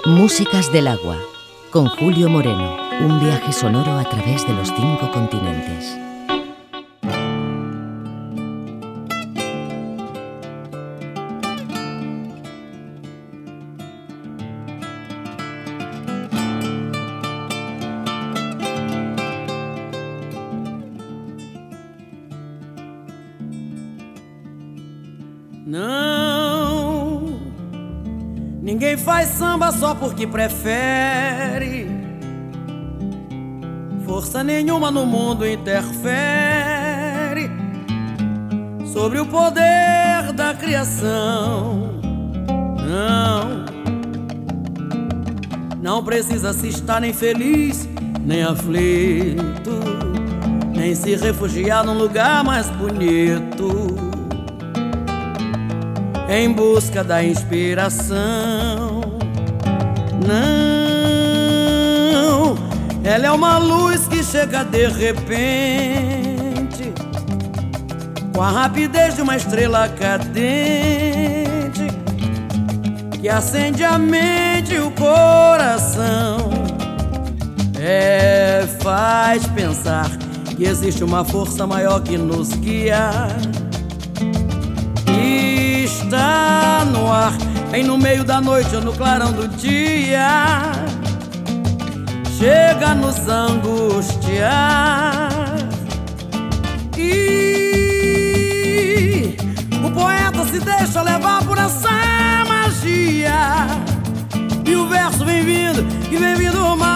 Músicas del agua, con Julio Moreno. Un viaje sonoro a través de los 5 continentes. Não, ninguém faz samba só porque prefere. Força nenhuma no mundo interfere sobre o poder da criação. Não precisa se estar nem feliz, nem aflito, nem se refugiar num lugar mais bonito, em busca da inspiração. Não, ela é uma luz que chega de repente, com a rapidez de uma estrela cadente, que acende a mente e o coração. Faz pensar que existe uma força maior que nos guia. Está no ar, bem no meio da noite ou no clarão do dia, chega a nos angustiar. E o poeta se deixa levar por essa magia, e o verso vem vindo, e vem vindo uma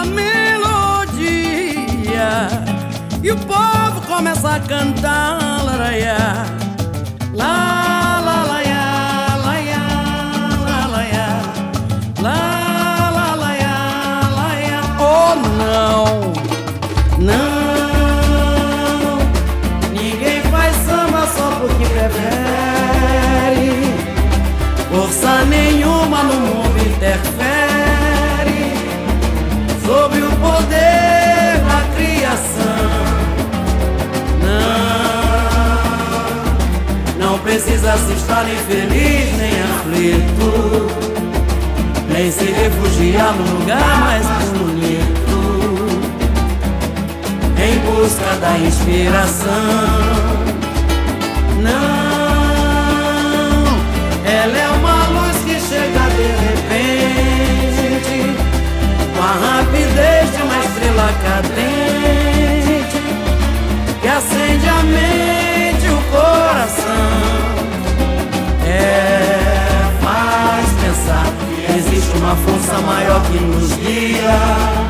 melodia, e o povo começa a cantar, laraiá, lá. Não, ninguém faz samba só porque prefere. Força nenhuma no mundo interfere sobre o poder da criação. Não precisa se estar nem feliz, nem aflito, nem se refugiar no lugar mais bonito, em busca da inspiração. Não, ela é uma luz que chega de repente, com a rapidez de uma estrela cadente, que acende a mente e o coração. Faz pensar que existe uma força maior que nos guia.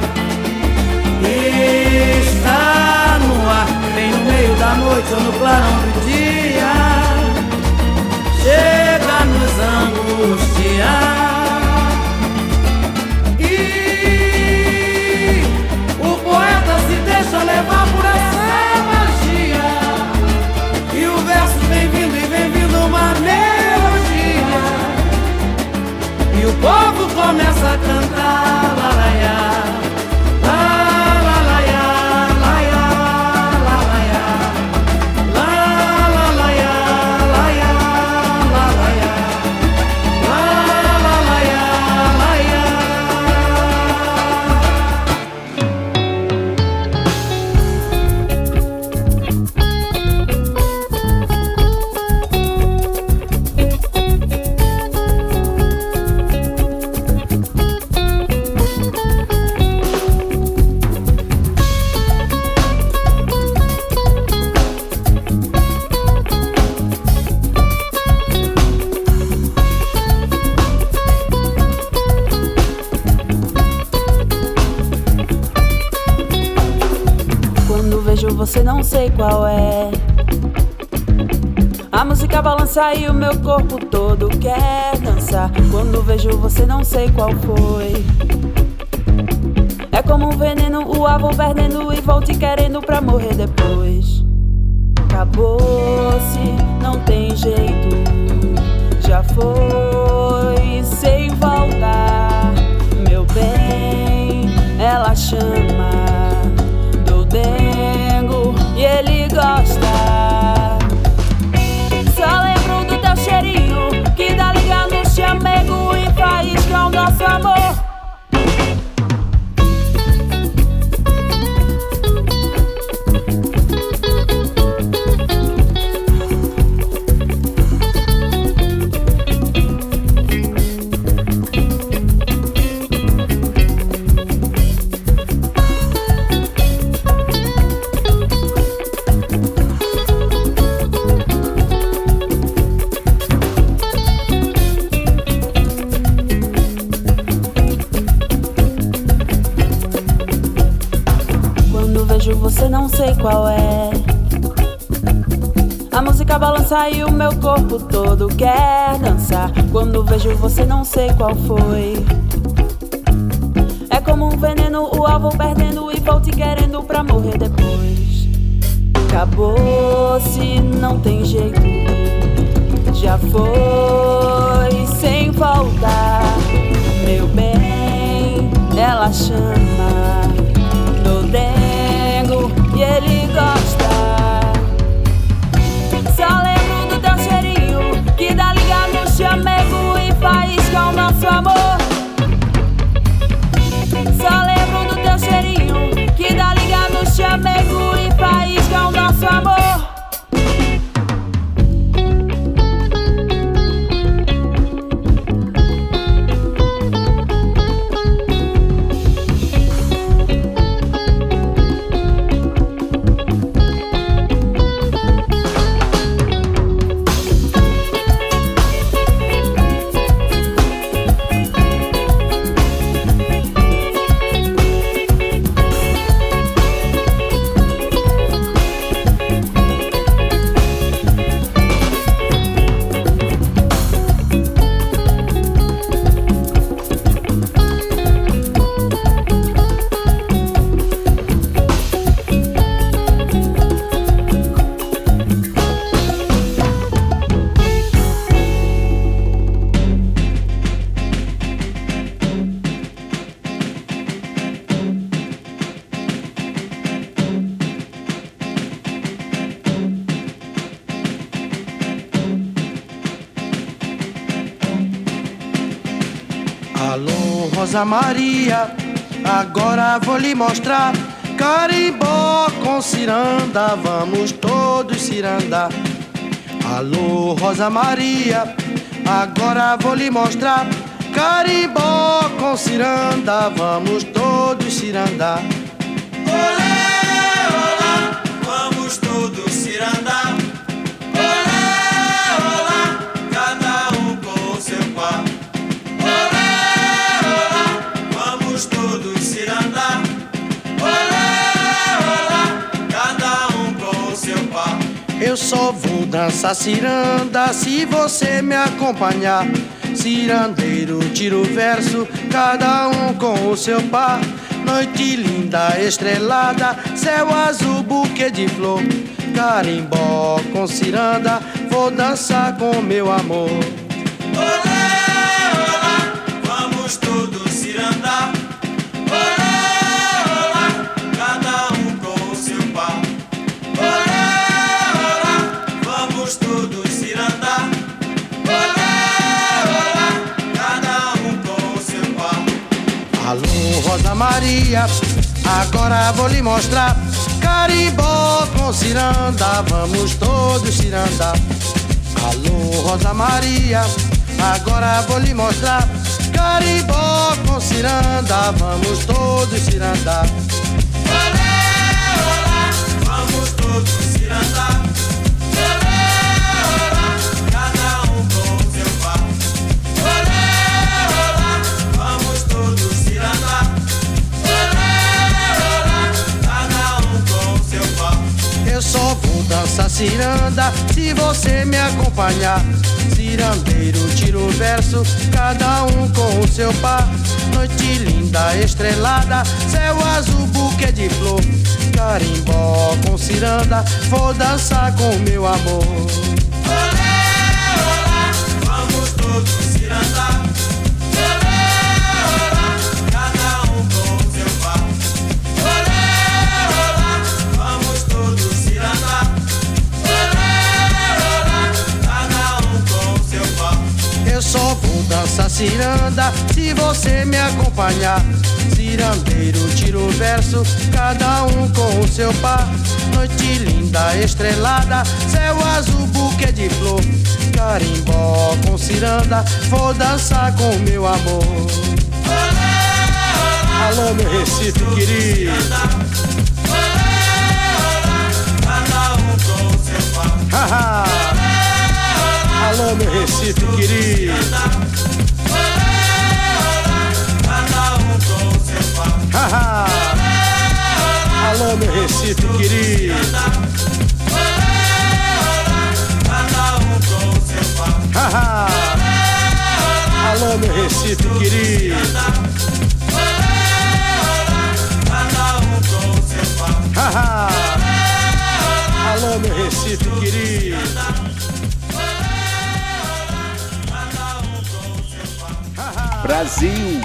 Está no ar, bem no meio da noite ou no clarão do dia, chega a nos angustiar. E o poeta se deixa levar por essa magia, e o verso vem vindo e vem vindo uma melodia, e o povo começa a cantar, laraiá. Você não sei qual é. A música balança e o meu corpo todo quer dançar. Quando vejo você não sei qual foi. É como um veneno, o ar vou perdendo e vou te querendo pra morrer depois. Acabou-se, não tem jeito, já foi sem voltar. Meu bem, ela chama do dengo e ele gosta. Só lembro do teu cheirinho que dá liga no chamego e faísca o nosso amor. sei qual é. A música balança e o meu corpo todo quer dançar. Quando vejo você não sei qual foi. É como um veneno, o alvo perdendo e vou te querendo pra morrer depois. Acabou, se não tem jeito, já foi sem voltar. Meu bem, ela chama do dengo e ele gosta. Só lembro do teu cheirinho que dá liga no chamego e faísca o nosso amor. Só lembro do teu cheirinho que dá liga no chamego e faísca o nosso amor. Alô, Rosa Maria, agora vou lhe mostrar carimbó com ciranda, vamos todos cirandar. Alô, Rosa Maria, agora vou lhe mostrar carimbó com ciranda, vamos todos cirandar. Olé, olá, vamos todos cirandar. Olé, olá, cada um com o seu par. Todos cirandar. Olé, olá, cada um com o seu par. Eu só vou dançar ciranda se você me acompanhar. Cirandeiro, tiro verso, cada um com o seu par. Noite linda, estrelada, céu azul, buquê de flor. Carimbó com ciranda, vou dançar com meu amor. Olé, olá, vamos todos cirandar. Alô, Rosa Maria, agora vou lhe mostrar carimbó com ciranda, vamos todos cirandar. Alô, Rosa Maria, agora vou lhe mostrar carimbó com ciranda, vamos todos cirandar. Olé, olá, vamos todos cirandar. Olé, olá, cada um com o seu par. Olé, olá, vamos todos cirandar. Olé, olá, cada um com o seu par. Eu só vou dançar ciranda se você me acompanhar. Cirandeiro, tiro verso, cada um com o seu par. Noite linda, estrelada, céu azul, buquê de flor. Carimbó com ciranda, vou dançar com meu amor. Olé, olá, vamos todos cirandar. Olé, olá, cada um com o seu par. Olé, olá, vamos todos cirandar. Olé, olá, cada um com o seu par. Eu só vou dançar ciranda se você me acompanhar. Cirandeiro, tiro verso, cada um com o seu par. Noite linda, estrelada, céu azul, buquê de flor. Carimbó com ciranda, vou dançar com meu amor. Olé, olá, alô, meu Recife querido. Olé, olá, cada um com o seu par. Alô, meu Recife querido. Cada um com o seu par. Alô, meu Recife Recife querido. Cada um com o seu par. Alô, meu Recife querido. Cada um com o seu par. Alô, meu Recife querido. Brasil.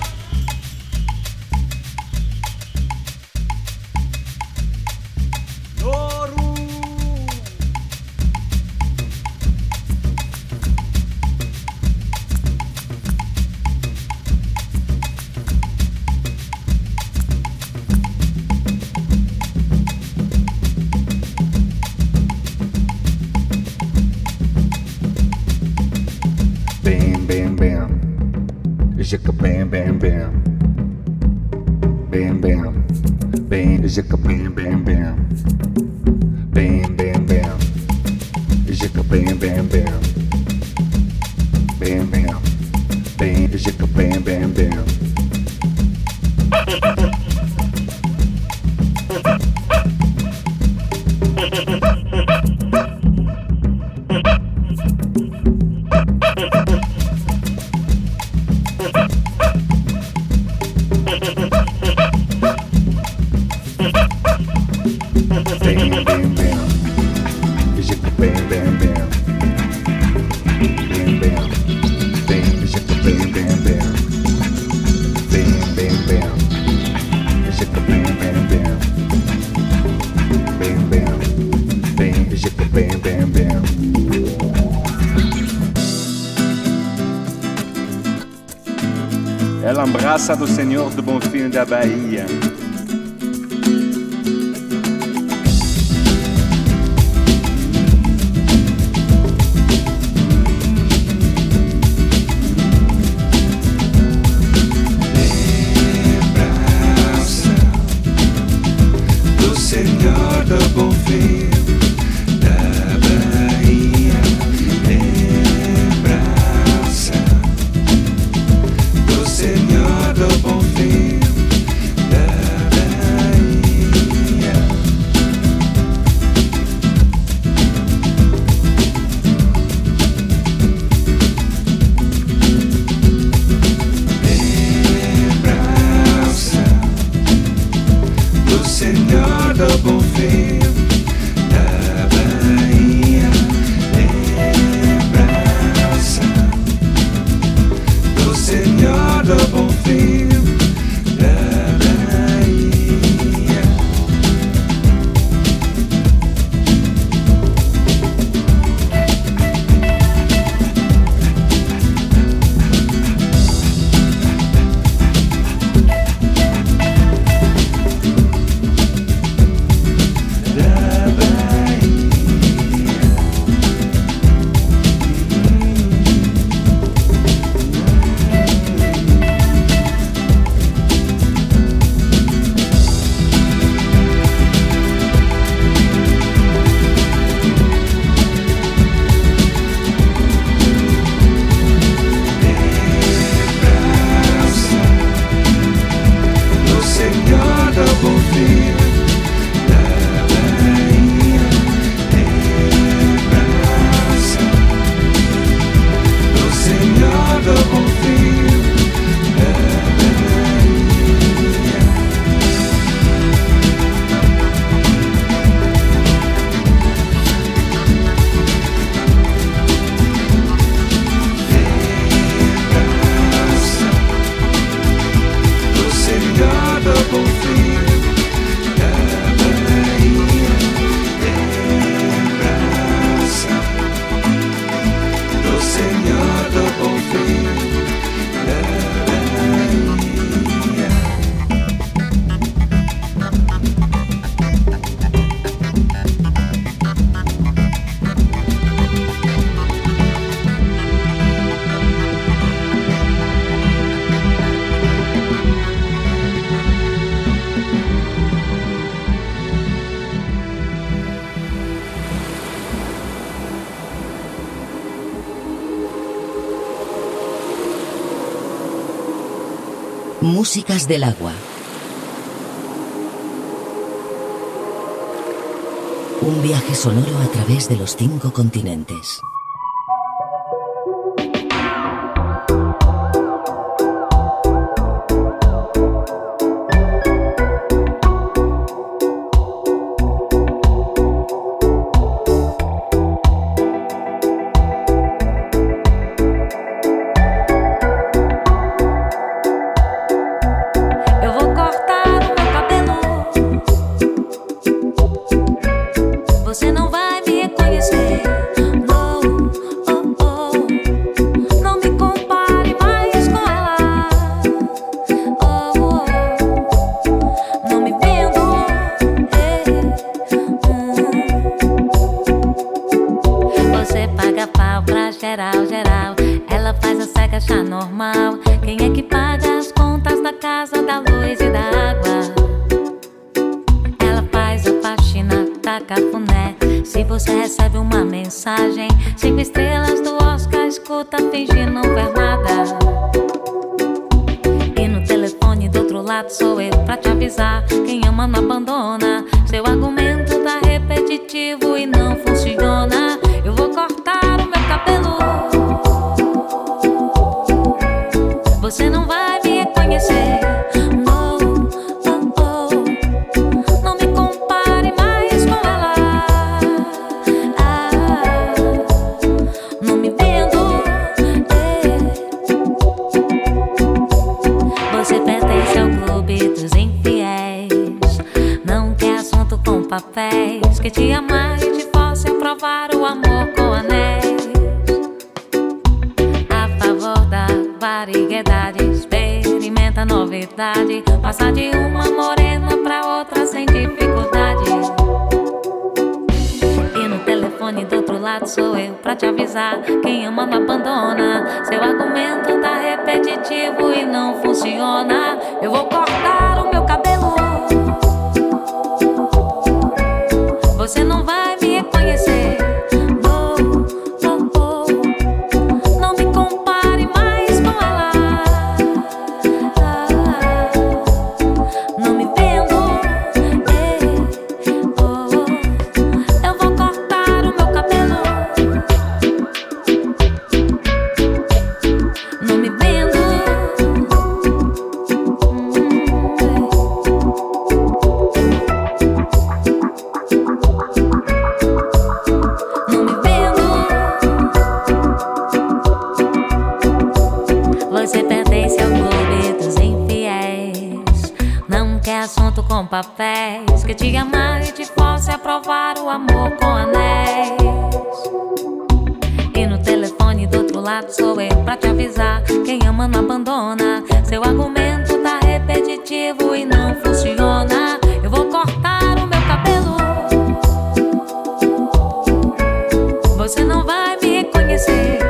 Jicka bam bam bam, bam bam, bam jicka bam bam bam, bam bam bam, jicka bam bam bam, bam bam, bam jicka bam bam bam. É lambraça do Senhor do Bonfim da Bahia. Lembrança do Senhor do Bonfim da Bahia. Lembrança do Senhor do Bonfim da Bahia. Lembrança do Senhor do Bonfim da Bahia. Lembrança do Senhor do Bonfim da Bahia. Da Bahia. Lembrança do Senhor do Bonfim da Bahia. Lembrança do Senhor do Bonfim da Bahia. Lembrança do Senhor do Bonfim da Bahia. Lembrança do Senhor do Bonfim da Bahia. Músicas del agua. Un viaje sonoro a través de los 5 continentes. Passar de uma morena pra outra sem dificuldade. E no telefone do outro lado sou eu pra te avisar. Quem ama não abandona. Seu argumento tá repetitivo e não funciona. Eu vou cortar o meu cabelo. Você não vai me reconhecer. Papéis que te amar e te force a provar o amor com anéis. E no telefone do outro lado sou eu pra te avisar. Quem ama não abandona. Seu argumento tá repetitivo e não funciona. Eu vou cortar o meu cabelo. Você não vai me reconhecer.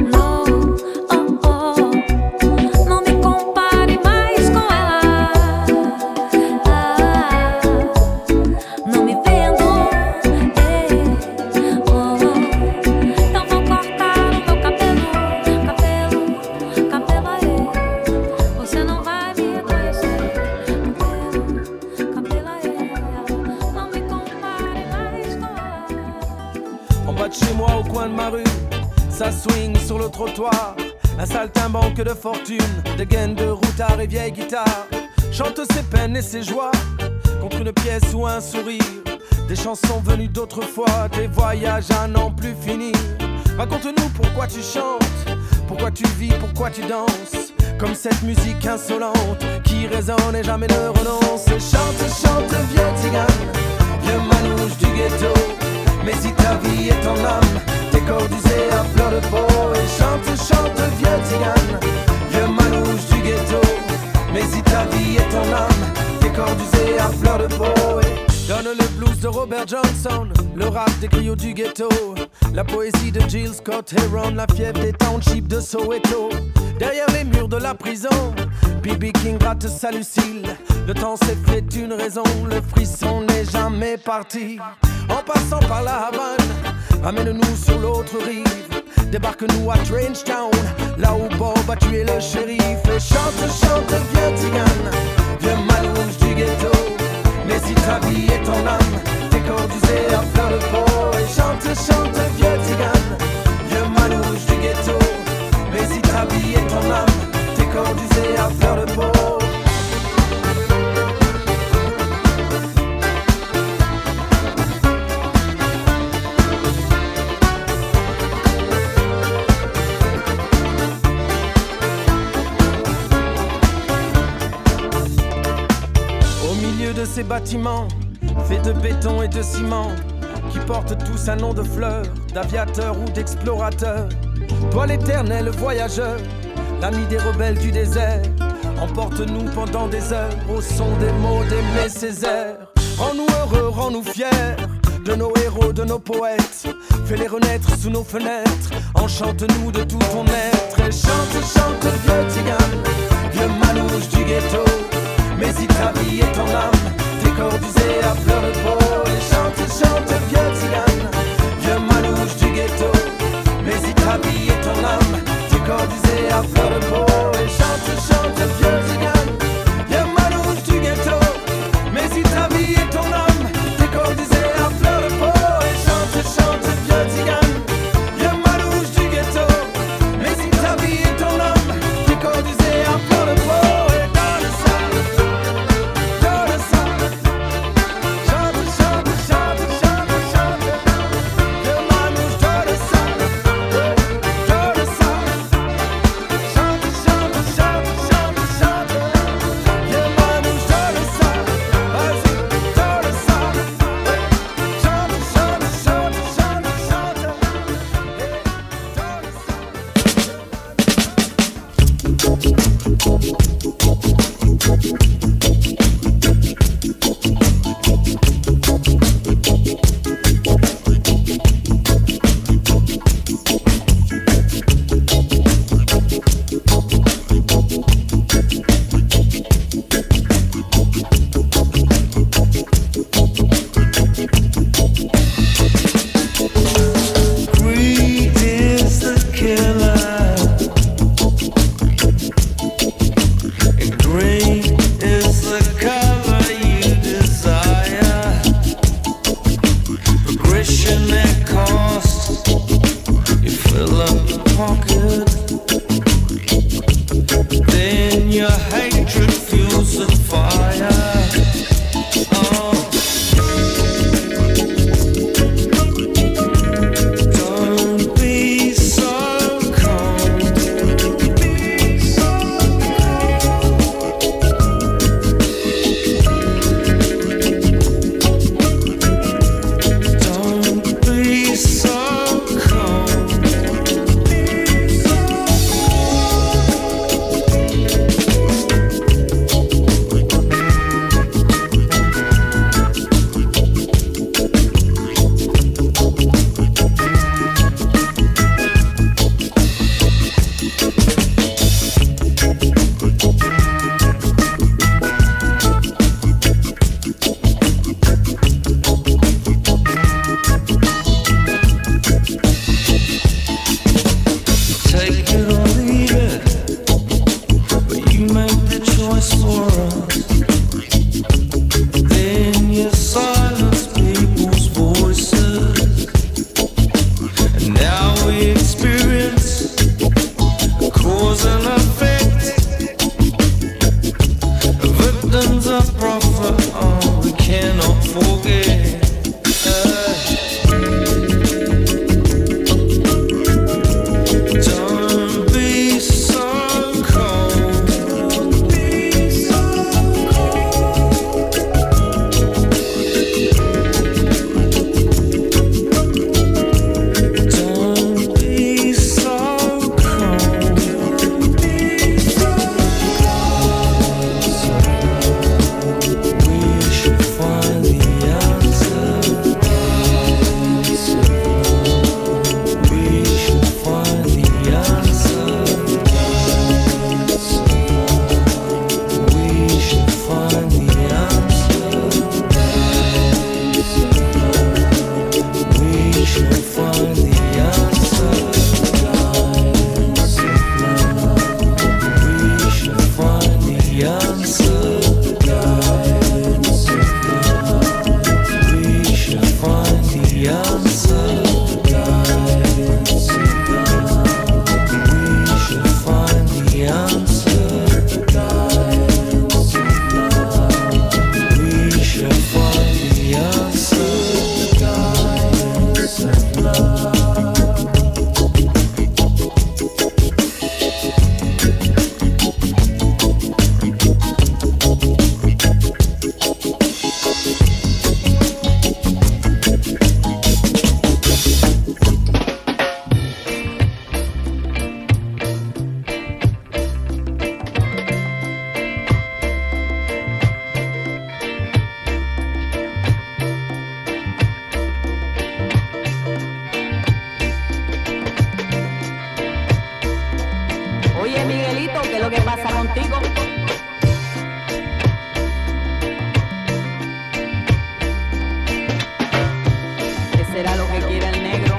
Ça swing sur le trottoir, un saltimbanque de fortune, des gaines de routard et vieilles guitares, chante ses peines et ses joies, contre une pièce ou un sourire, des chansons venues d'autrefois, des voyages à n'en plus finir. Raconte-nous pourquoi tu chantes, pourquoi tu vis, pourquoi tu danses, comme cette musique insolente, qui résonne et jamais ne renonce. Et chante, chante, vieux tzigane, vieux manouche du ghetto, mais si ta vie est en âme, tes corps d'usés à fleur de peau. Et chante, chante, vieux tzigane, vieux manouche du ghetto, mais si ta vie est en âme, tes corps d'usés à fleur de peau. Et donne le blues de Robert Johnson, le rap des griots du ghetto, la poésie de Jill Scott Heron, la fièvre des townships de Soweto. Derrière les murs de la prison, B.B. King gratte sa Lucille. Le temps s'est fait une raison, le frisson n'est jamais parti. En passant par la Havane, amène-nous sur l'autre rive. Débarque-nous à Trenchtown, là où Bob a tué le shérif. Et chante, chante, vieux tzigane, vieux manouche du ghetto, mais si ta vie est en âme, tes corps d'usés à fleur corps d'usé à fleur de peau. De ces bâtiments faits de béton et de ciment qui portent tous un nom de fleur, d'aviateur ou d'explorateur. Toi l'éternel voyageur, l'ami des rebelles du désert, emporte-nous pendant des heures au son des mots d'Aimé Césaire. Rends-nous heureux, rends-nous fiers de nos héros, de nos poètes. Fais-les renaître sous nos fenêtres, enchante-nous de tout ton être. Et chante, chante vieux tigane, vieux manouche du ghetto. Mais si ta vie est ton âme, tes corps d'usé à fleur de peau. Et chante, chante, vieux tigane, vieux manouche du ghetto. Mais si ta vie est ton âme, tes corps d'usé à fleur de peau. Et chante, chante, vieux tigane, vieux manouche du ghetto. Mais si ta vie est ton âme, tes corps d'usé à fleur de peau. Et chante, chante, vieux tigane, vieux manouche du ghetto. Mais si ta vie est ton âme, tes corps d'usé à fleur de peau. pasa contigo? ¿Qué será lo que quiere el negro?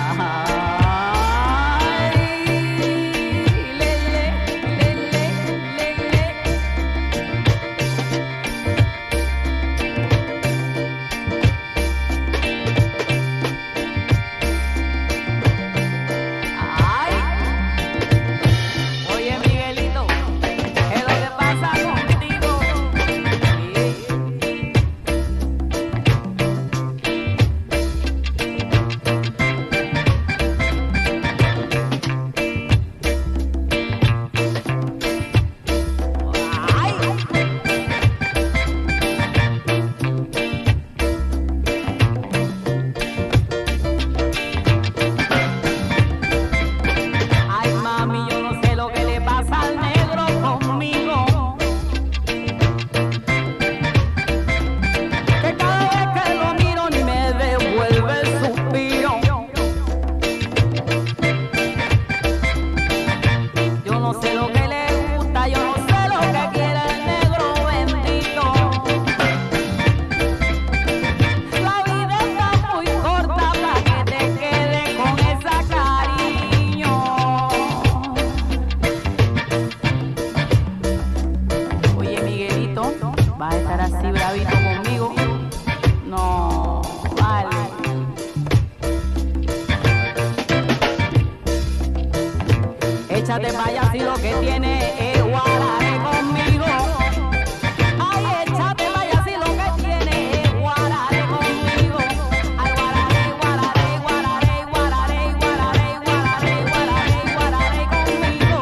Échate pa' allá si lo que tiene es guarare conmigo. Ay, échate pa' allá si lo que tiene es guarare conmigo. Ay, guarare, guarare, guarare, guarare, guarare, guarare, guarare, guarare conmigo.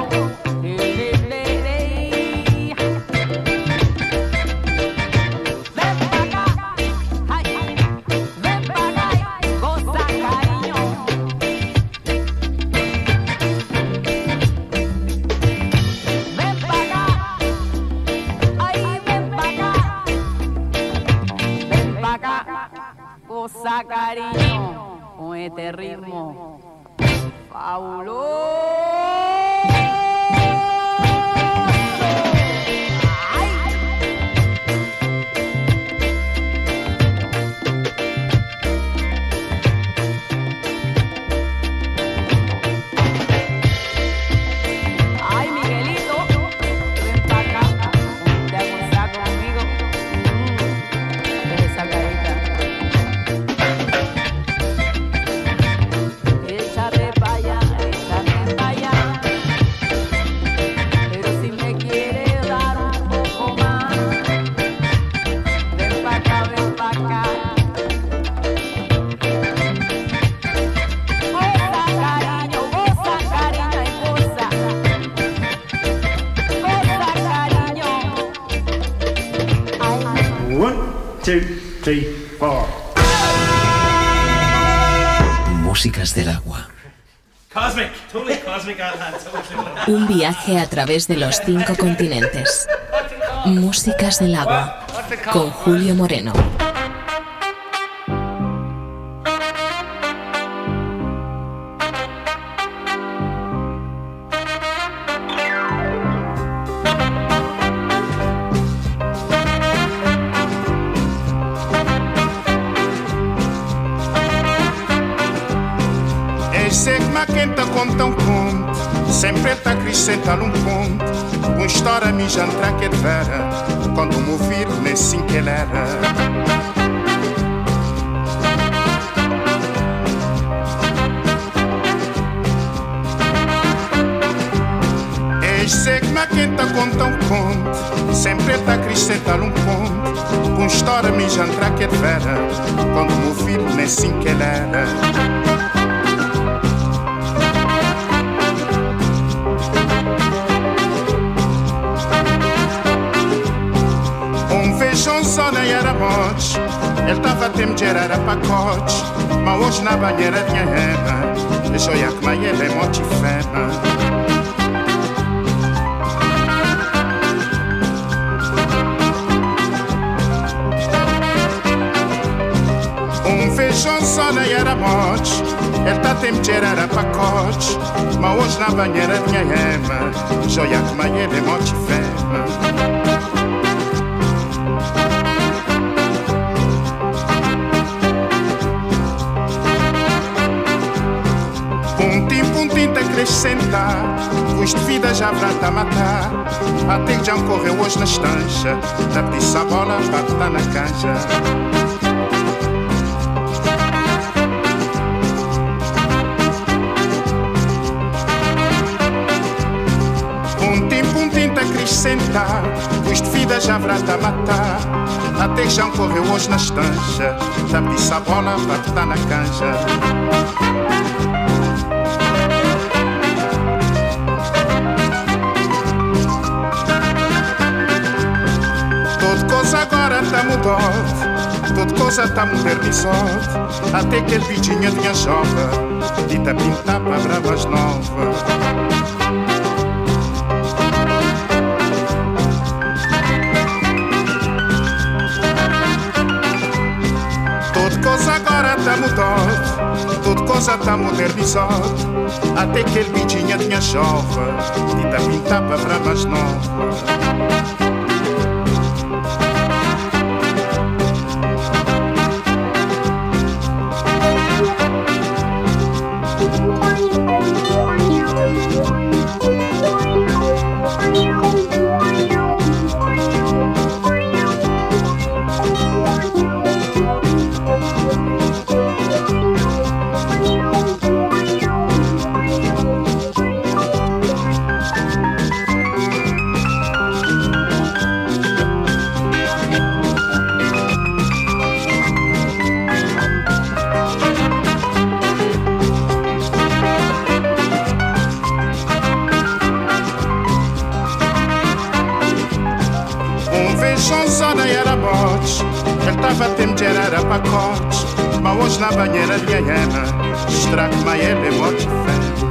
Ven pa' acá, ay, ven pa' acá, goza cariño. Goza cariño con este ritmo fabuloso. Ay, Miguelito, ven pa' acá, ponte a gozar conmigo. Deja esa carita. Échate pa' allá, pero si me quieres dar un poco más, ven pa' acá, ven pa' acá. Goza cariño y goza. Goza cariño. Ay. 1, 2, 3, 4. Músicas del agua. Cosmic, totally cosmic on that. Un viaje a través de los 5 continentes. Músicas del agua con Julio Moreno. Ma quem te conta um conto, sempre te acrescenta um ponto. Uma história me já entra que vera, quando me ouvir nesse que ele era. Sei que quem te conta um conto, sempre te acrescenta um ponto. Uma história me já entra que vera, quando me ouvir nesse que ele era. Só era morte, ele tava a tempo de era pacote, mas hoje na banheira tinha rena, deixou a que mais ele é morte fena. Feijão só nem era morte, Ele tá tempo de gerar a pacote, mas hoje na banheira de minha ema, joia que mãe ele é morte fema. Puntim te acrescentar, custo de vida já vrata a matar. Até que já correu hoje na estancha, da petiça a bola para estar na canja. Puntim te acrescentar, custo de vida já vrata a matar. Até que já correu hoje na estancha, da petiça a bola para estar na canja. Agora tá mudado, toda coisa tá modernizada. Até que ele vidinha tinha jovem e tá pintar para bravas novas. Toda coisa agora tá mudada, toda coisa tá modernizada. Até que ele vidinha tinha jovem e tá pintar para bravas novas. Era pacote, mas hoje na banheira de Gaiana, estrago mas ele é morte fé.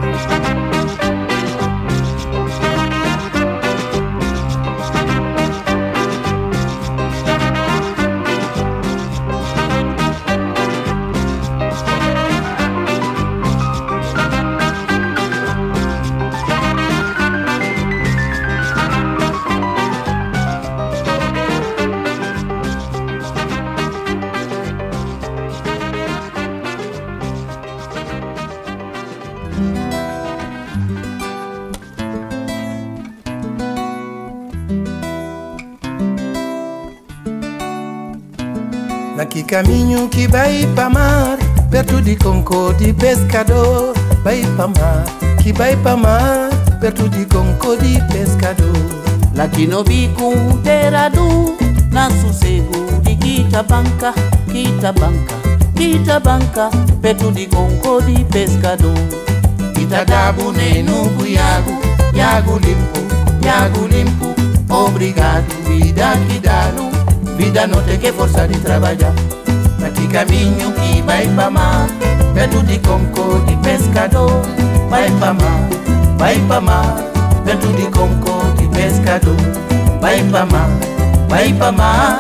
Que caminho que vai pra mar, perto de Concorde pescador. Vai pra mar, que vai pra mar, perto de Concorde pescador. Lá que no bico terado, na sossego de Quitabanca, Quitabanca, Quitabanca, perto de Concorde pescador. Itadabu no buiago, Iago limpo, obrigado, vida que dá no. Vida não tem que forçar de trabalhar. Naquele caminho que vai pra mar, perto de Concorde pescador. Vai pra mar, perto de Concorde pescador. Vai pra mar, vai pra mar.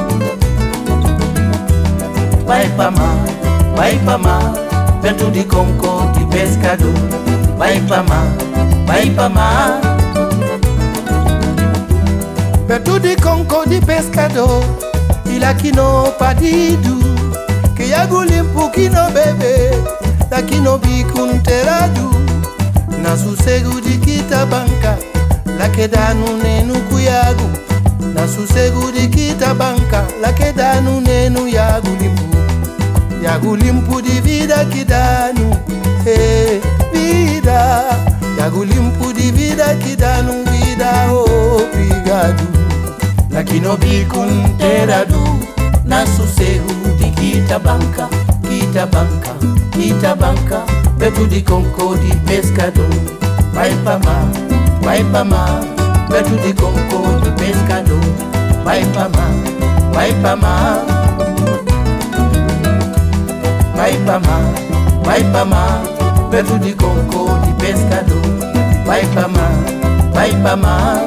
Vai pra mar, perto de Concorde pescador. Vai pra mar. Perto de Concorde pescador, il a que não padido, que Iago limpo que não bebe, daqui no bico terado, na sossego de Quitabanca, lá que dá no neno Iago, na sossego de Quitabanca, lá que dá no neno Iago limpo de vida que dá no, vida, Iago limpo de vida que dá no vida, obrigado. Aqui no bico terado, na sossego de Quitabanca, Quitabanca, Quitabanca, perto de Concorde pescador. Vai pra mar, perto de Concorde pescador. Vai pra mar, vai pra mar. Vai pra mar, perto de Concorde pescador. Vai pra mar.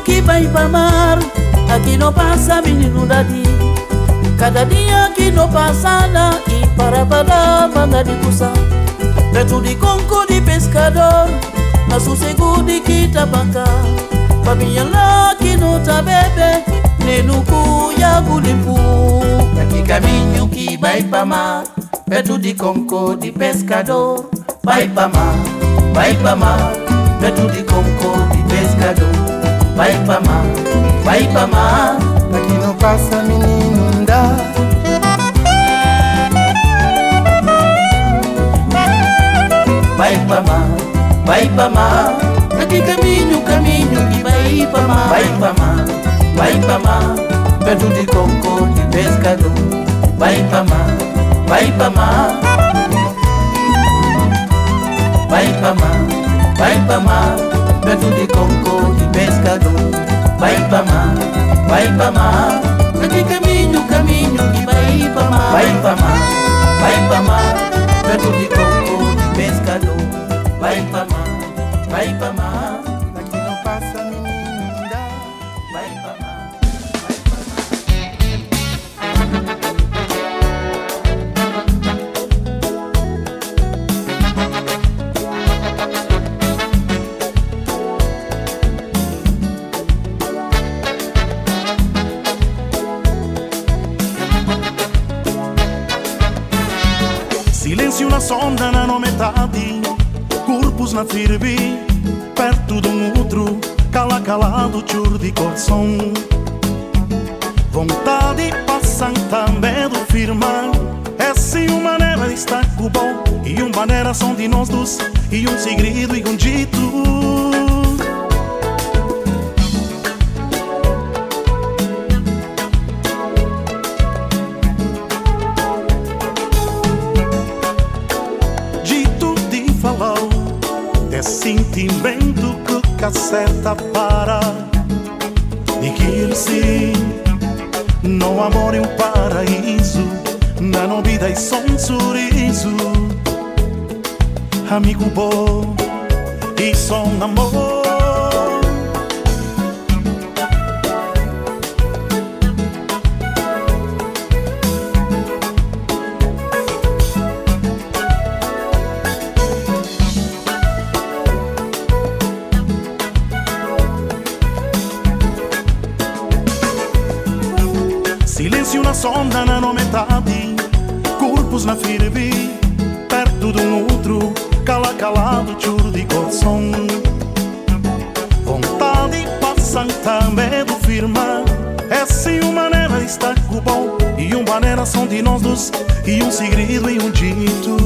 que vai pra mar, aqui não passa menino daqui. Cada dia que não passa nada, e para banda de puça. Perto de conco de pescador, na sossego de Quitabanca. Família lá que não tá bebê, nem no cuiago limpo. Aqui caminho que vai pra mar, perto de conco de pescador. Vai pra mar, perto de conco de pescador. Vai pra mar, aqui não passa menino dá. Vai pra mar, aqui caminho que vai pra mar. Vai pra mar, perto de conco de pescador. Vai pra mar, perto de conco de pescador. Vai pra mar, aqui caminho que vai pra mar. Vai pra mar, perto de conco de pescador. Vai pra mar, aqui não passa menino dá. Vai pra mar. Silêncio na sonda na metade, corpos na firme, perto de outro, calado, chur de coração. Vontade passam também do firmar, essa é uma maneira de estar com bom, e uma maneira são de nós dois, e um segredo e um dito. Sentimento que caceta para dizer-se. No amor é um paraíso, na vida é só um sorriso. Amigo bom e só um amor. Silêncio na sonda na metade, corpos na firme, perto de outro, calado, chur de coração. Vontade passam também do firmar, essa é uma maneira de estar com bom, e uma maneira são de nós dois, e um segredo e um dito.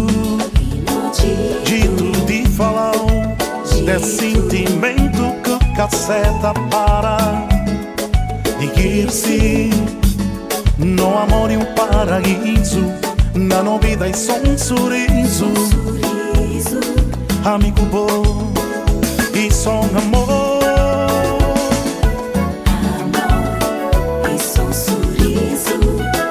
Dito de falar, desse sentimento que caceta para dizer-se. No amor é um paraíso, na vida é só um sorriso. Amigo bom e só um amor. Amor e só um sorriso.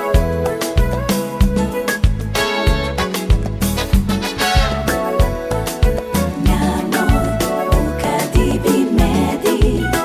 Meu amor, nunca tive medo.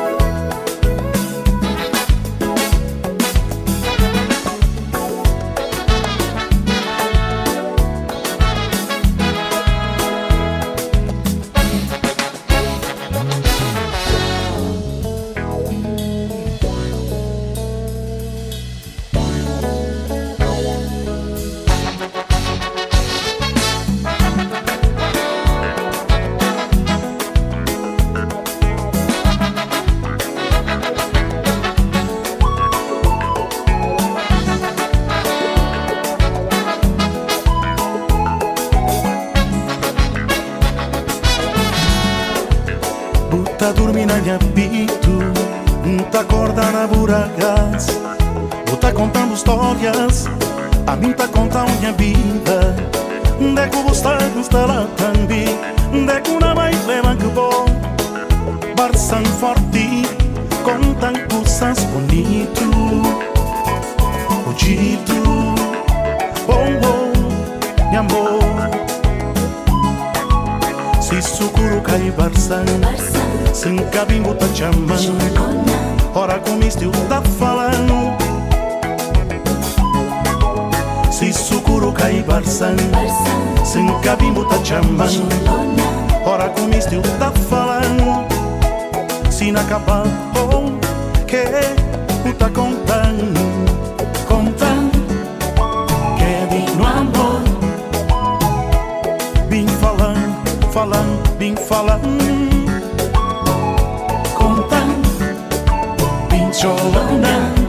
Tá dormindo na apito, tá acordando na buragas, tá contando histórias, a mim tá contando minha vida. De que você está lá também, de que uma vai levar que bom, barçam forte, contam coisas bonitas, o dito, oh, meu amor. Se sucuro cai barçan, sem cabimbo tá chamando, ora com isto tá falando. Se sucuro cai barçan, sem cabimbo tá chamando, ora com isto tá falando. Se não acabar, oh, que o tá contando, contando, que de no amor. Bem falando, falando, bem falando, contando, bem cholando,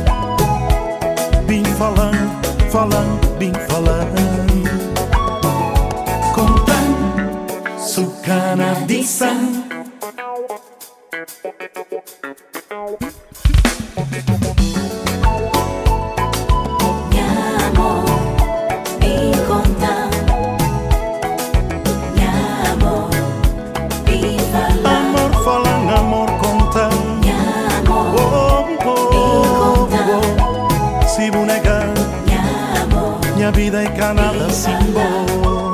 bem falando, falando, bem falando, contando, sucana de sangue. Vida é canada símbolo.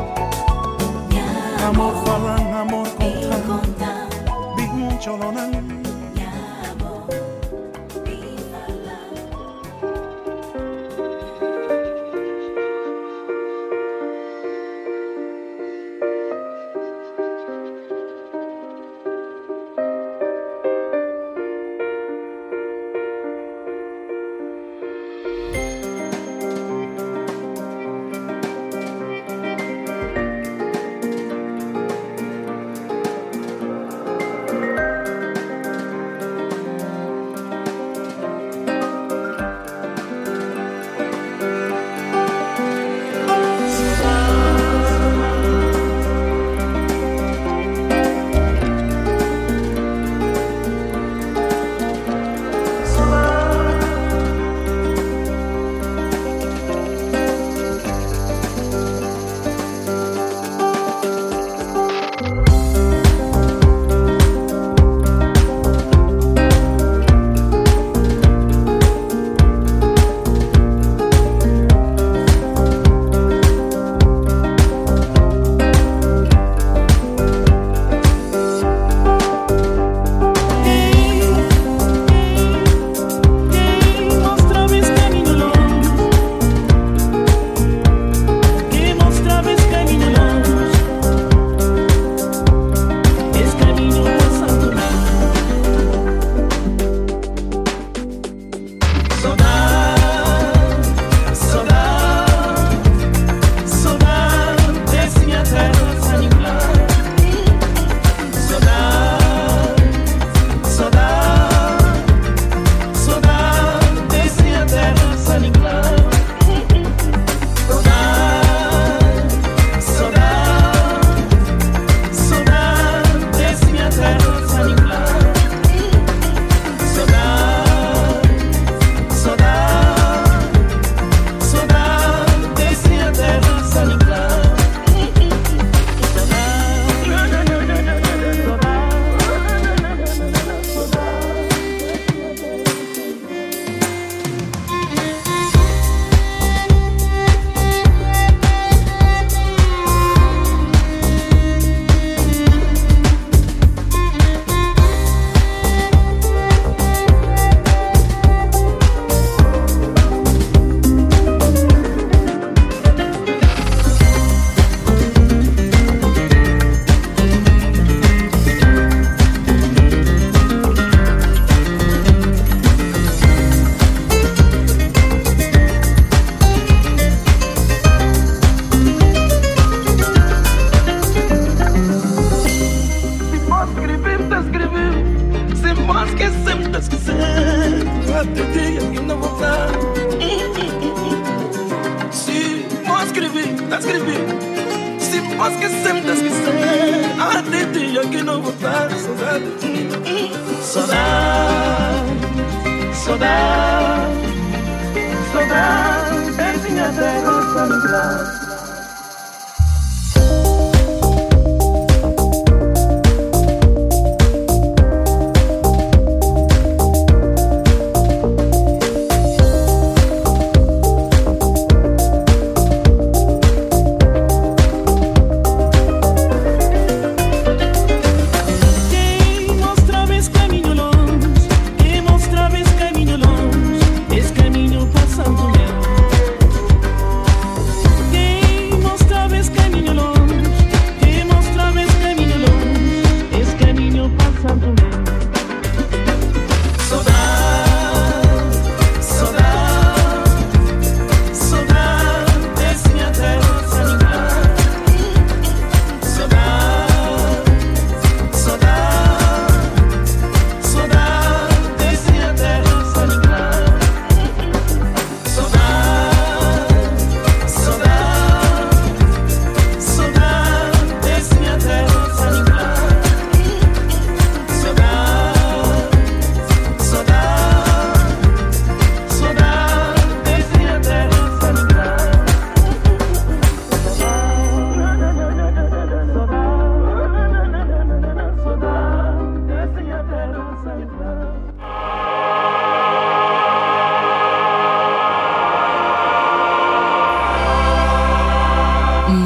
Amor falan, amor contan, bim cholonan.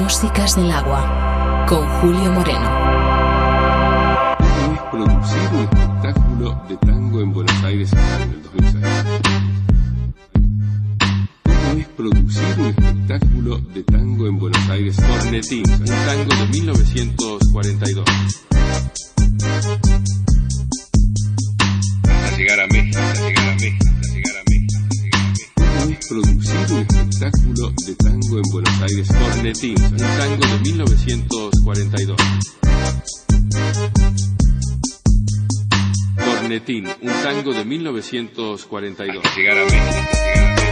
Músicas del agua, con Julio Moreno. ¿Cómo es producir un espectáculo de tango en Buenos Aires en el 2006? ¿Cómo es producir un espectáculo de tango en Buenos Aires? Cornetín, un tango de 1942. Hasta llegar a México, hasta llegar a México, hasta llegar a México, hasta llegar a México. ¿Cómo es producir un espectáculo de tango en Buenos Aires? Cornetín, un tango de 1942. Cornetín, un tango de 1942. Hasta llegar a México, hasta llegar a México.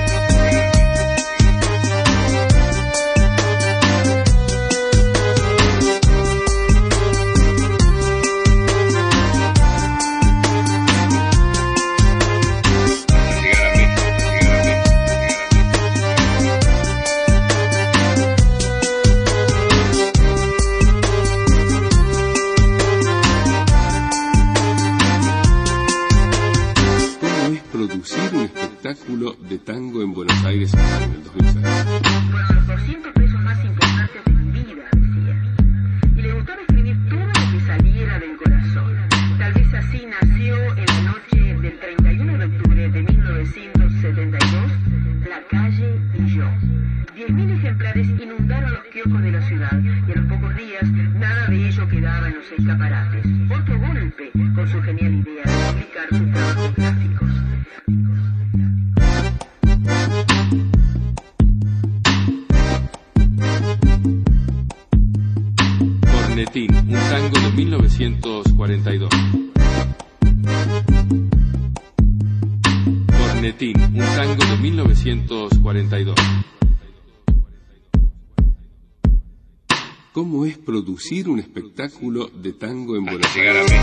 Producir un espectáculo de tango en Buenos Aires en el 2006. Fueron los 200 pesos más importantes de mi vida, decía. Y le gustaba escribir todo lo que saliera del corazón. Tal vez así nació en la noche del 31 de octubre de 1972, La calle y yo. 10.000 ejemplares inundaron los kioscos de la ciudad y a los pocos días nada de ello quedaba en los escaparates. Otro golpe con su genial idea de publicar sus trabajos gráficos. Cornetín, un tango de 1942. Cornetín, un tango de 1942. ¿Cómo es producir un espectáculo de tango en Buenos Aires?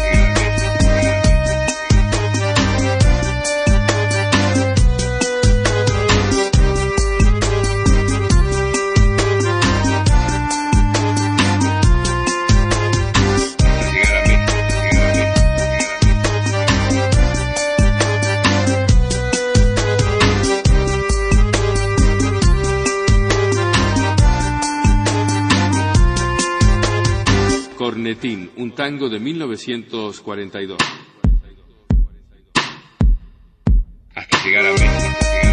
Cornetín, un tango de 1942. Hasta llegar a México.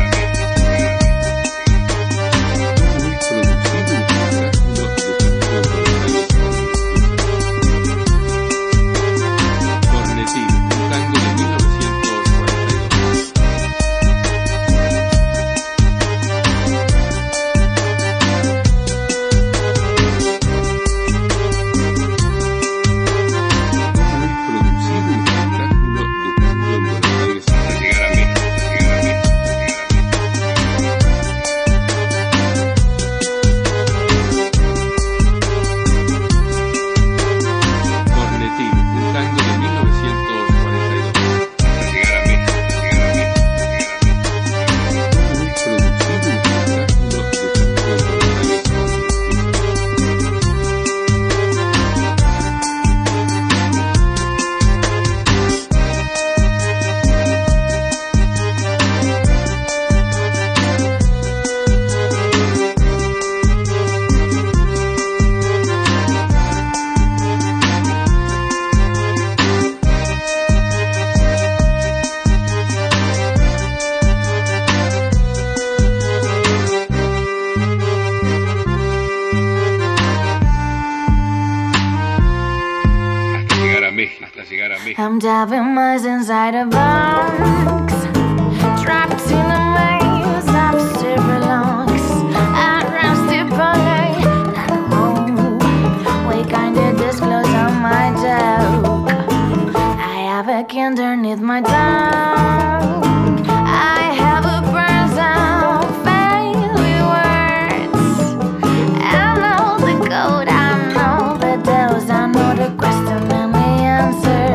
I'm diving miles inside a box, trapped in a maze of silver locks. At rusty ballet and home, we kinda disclose on my joke. I have a key underneath my tongue. I have a person filled with words. I know the code, I know the dose, I know the question and the answer.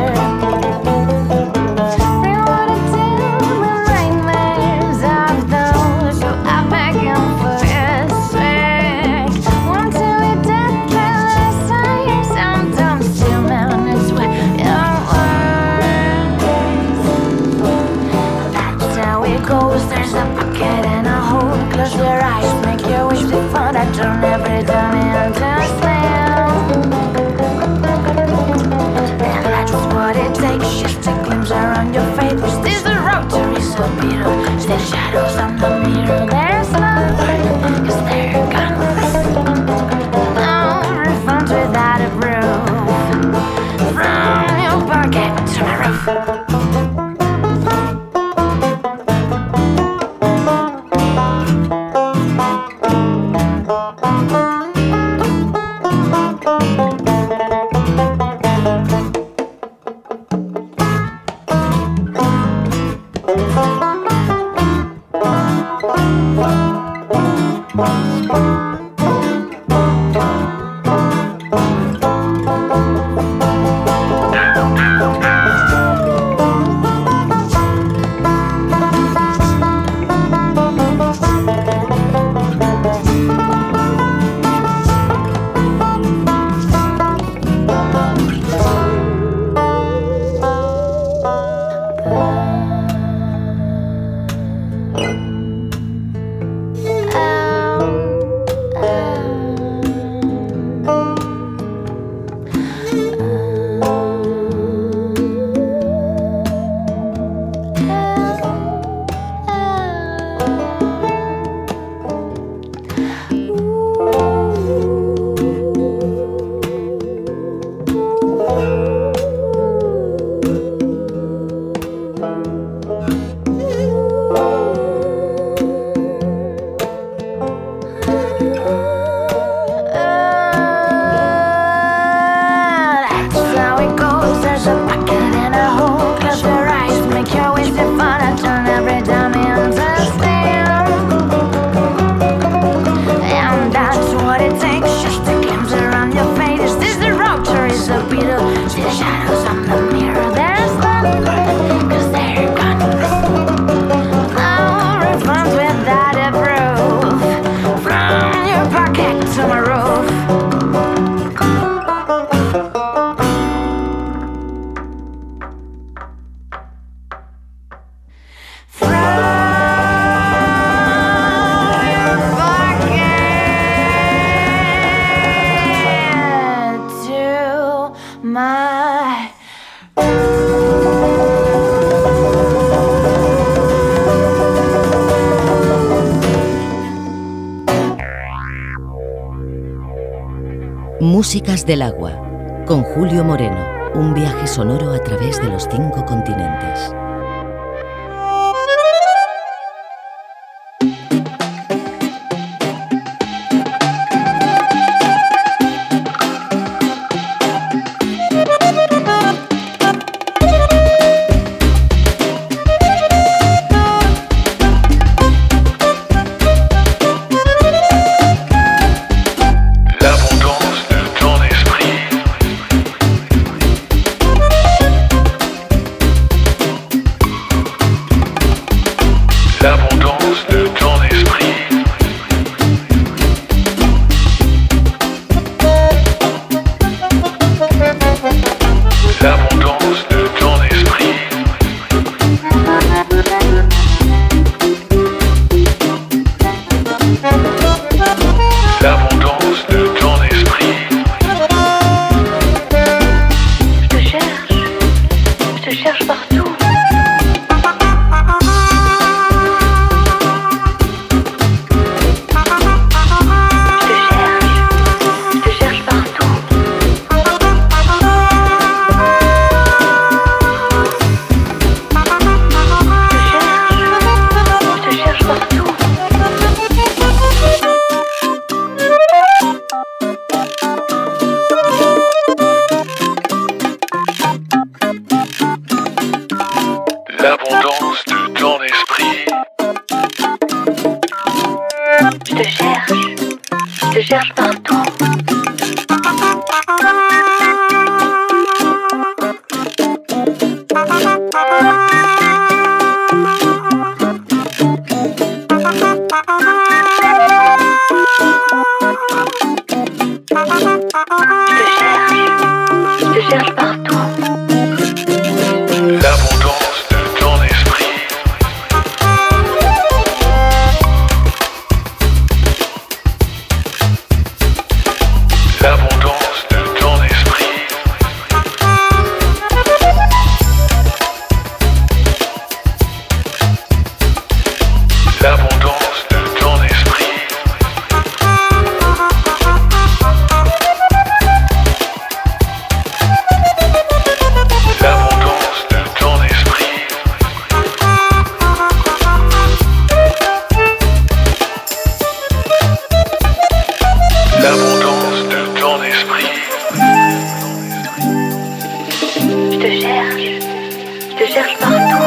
Músicas del agua, con Julio Moreno, un viaje sonoro a través de los 5 continentes.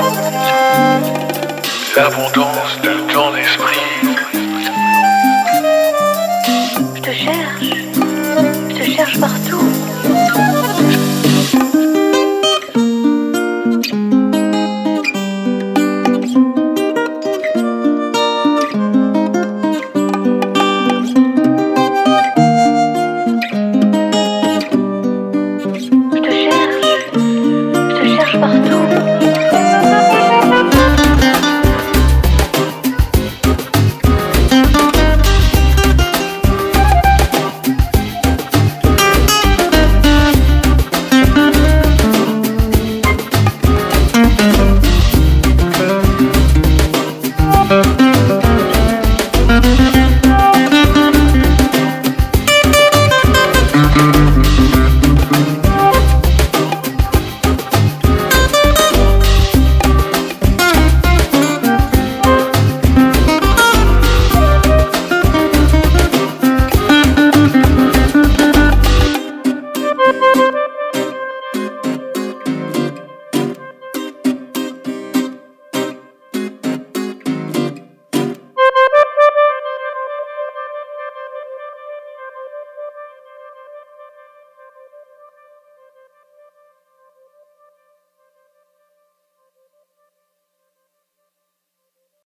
L'abondance de ton esprit.